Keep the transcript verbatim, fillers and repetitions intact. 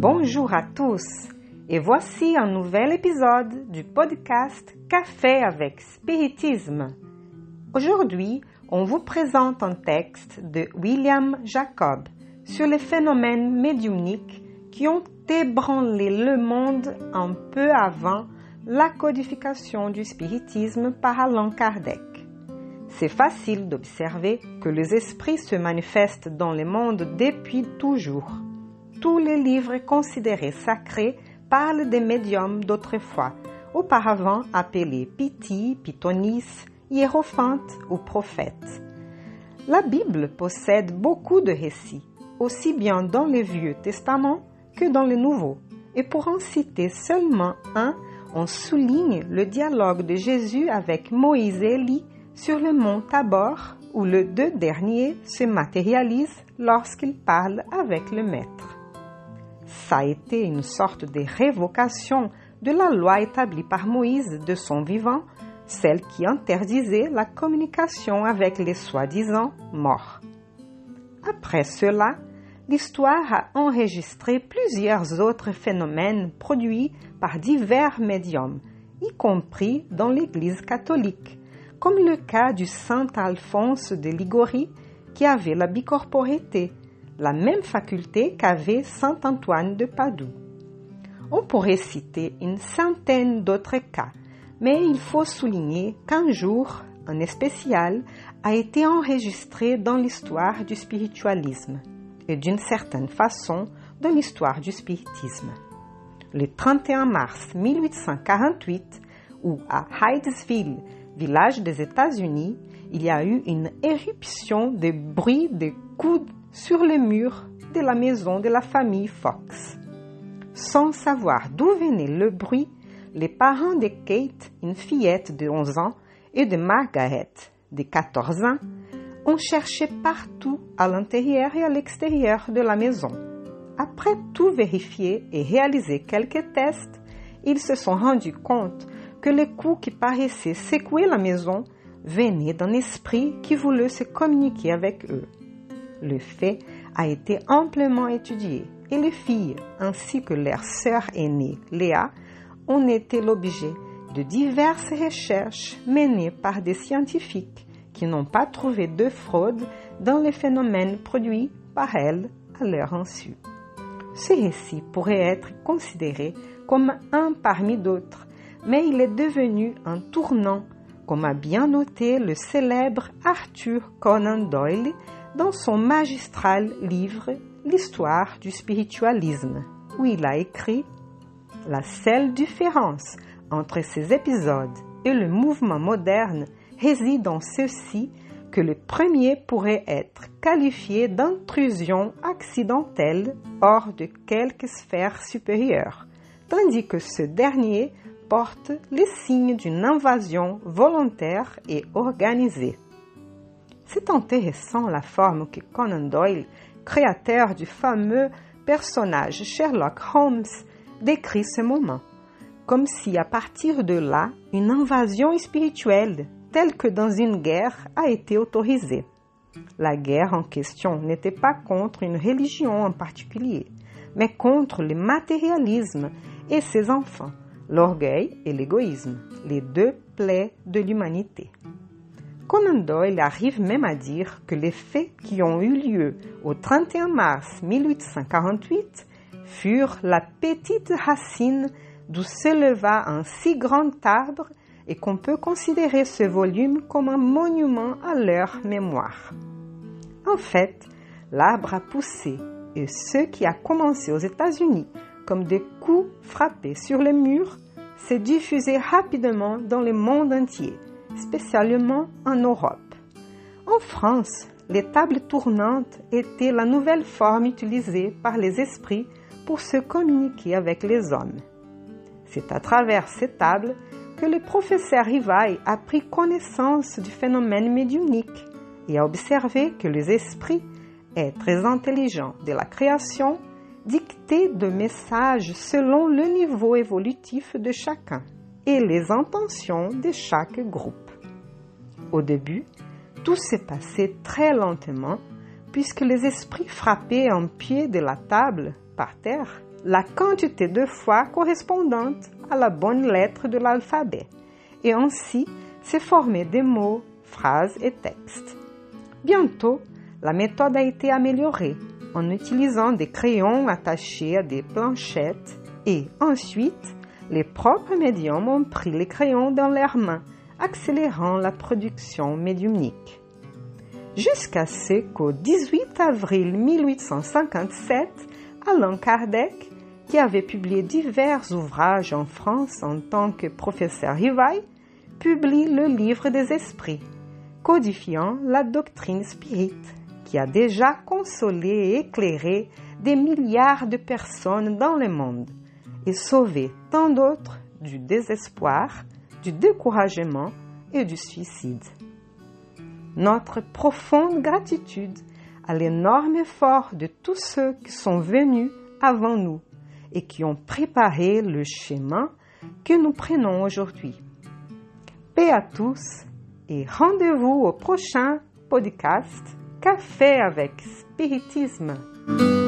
Bonjour à tous et voici un nouvel épisode du podcast Café avec Spiritisme. Aujourd'hui, on vous présente un texte de William Jacob sur les phénomènes médiumniques qui ont ébranlé le monde un peu avant la codification du spiritisme par Allan Kardec. C'est facile d'observer que les esprits se manifestent dans le monde depuis toujours. Tous les livres considérés sacrés parlent des médiums d'autrefois, auparavant appelés Piti, Pythonis, hiérophantes ou prophètes. La Bible possède beaucoup de récits, aussi bien dans le Vieux Testament que dans le Nouveau. Et pour en citer seulement un, on souligne le dialogue de Jésus avec Moïse et Élie sur le mont Tabor, où les deux derniers se matérialisent lorsqu'ils parlent avec le Maître. Ça a été une sorte de révocation de la loi établie par Moïse de son vivant, celle qui interdisait la communication avec les soi-disant morts. Après cela, l'histoire a enregistré plusieurs autres phénomènes produits par divers médiums, y compris dans l'Église catholique, comme le cas du saint Alphonse de Liguori qui avait la bicorporité, la même faculté qu'avait saint Antoine de Padoue. On pourrait citer une centaine d'autres cas, mais il faut souligner qu'un jour, un spécial, a été enregistré dans l'histoire du spiritualisme et d'une certaine façon dans l'histoire du spiritisme. Le trente et un mars mille huit cent quarante-huit, où à Hydesville, village des États-Unis, il y a eu une éruption de bruit de coudes sur le mur de la maison de la famille Fox. Sans savoir d'où venait le bruit, les parents de Kate, une fillette de onze ans, et de Margaret, de quatorze ans, ont cherché partout à l'intérieur et à l'extérieur de la maison. Après tout vérifier et réaliser quelques tests, ils se sont rendus compte que les coups qui paraissaient secouer la maison venaient d'un esprit qui voulait se communiquer avec eux. Le fait a été amplement étudié et les filles, ainsi que leur sœur aînée, Léa, ont été l'objet de diverses recherches menées par des scientifiques qui n'ont pas trouvé de fraude dans les phénomènes produits par elles à leur insu. Ce récit pourrait être considéré comme un parmi d'autres, mais il est devenu un tournant, comme a bien noté le célèbre Arthur Conan Doyle dans son magistral livre « L'histoire du spiritualisme », où il a écrit « La seule différence entre ces épisodes et le mouvement moderne réside dans ceci que le premier pourrait être qualifié d'intrusion accidentelle hors de quelque sphère supérieure, tandis que ce dernier porte les signes d'une invasion volontaire et organisée. » C'est intéressant la forme que Conan Doyle, créateur du fameux personnage Sherlock Holmes, décrit ce moment, comme si à partir de là, une invasion spirituelle, telle que dans une guerre, a été autorisée. La guerre en question n'était pas contre une religion en particulier, mais contre le matérialisme et ses enfants, l'orgueil et l'égoïsme, les deux plaies de l'humanité. Conan Doyle arrive même à dire que les faits qui ont eu lieu au trente et un mars mille huit cent quarante-huit furent la petite racine d'où s'éleva un si grand arbre et qu'on peut considérer ce volume comme un monument à leur mémoire. En fait, l'arbre a poussé et ce qui a commencé aux États-Unis comme des coups frappés sur les murs s'est diffusé rapidement dans le monde entier, spécialement en Europe. En France, les tables tournantes étaient la nouvelle forme utilisée par les esprits pour se communiquer avec les hommes. C'est à travers ces tables que le professeur Rivail a pris connaissance du phénomène médiumnique et a observé que les esprits, êtres intelligents de la création, dictaient des messages selon le niveau évolutif de chacun et les intentions de chaque groupe. Au début, tout s'est passé très lentement puisque les esprits frappaient un pied de la table, par terre, la quantité de fois correspondante à la bonne lettre de l'alphabet et ainsi se former des mots, phrases et textes. Bientôt, la méthode a été améliorée en utilisant des crayons attachés à des planchettes et ensuite, les propres médiums ont pris les crayons dans leurs mains, accélérant la production médiumnique. Jusqu'à ce qu'au dix-huit avril mille huit cent cinquante-sept, Allan Kardec, qui avait publié divers ouvrages en France en tant que professeur Rivail, publie le Livre des Esprits, codifiant la doctrine spirite, qui a déjà consolé et éclairé des milliards de personnes dans le monde et sauvé tant d'autres du désespoir, du découragement et du suicide. Notre profonde gratitude à l'énorme effort de tous ceux qui sont venus avant nous et qui ont préparé le chemin que nous prenons aujourd'hui. Paix à tous et rendez-vous au prochain podcast Café avec Spiritisme.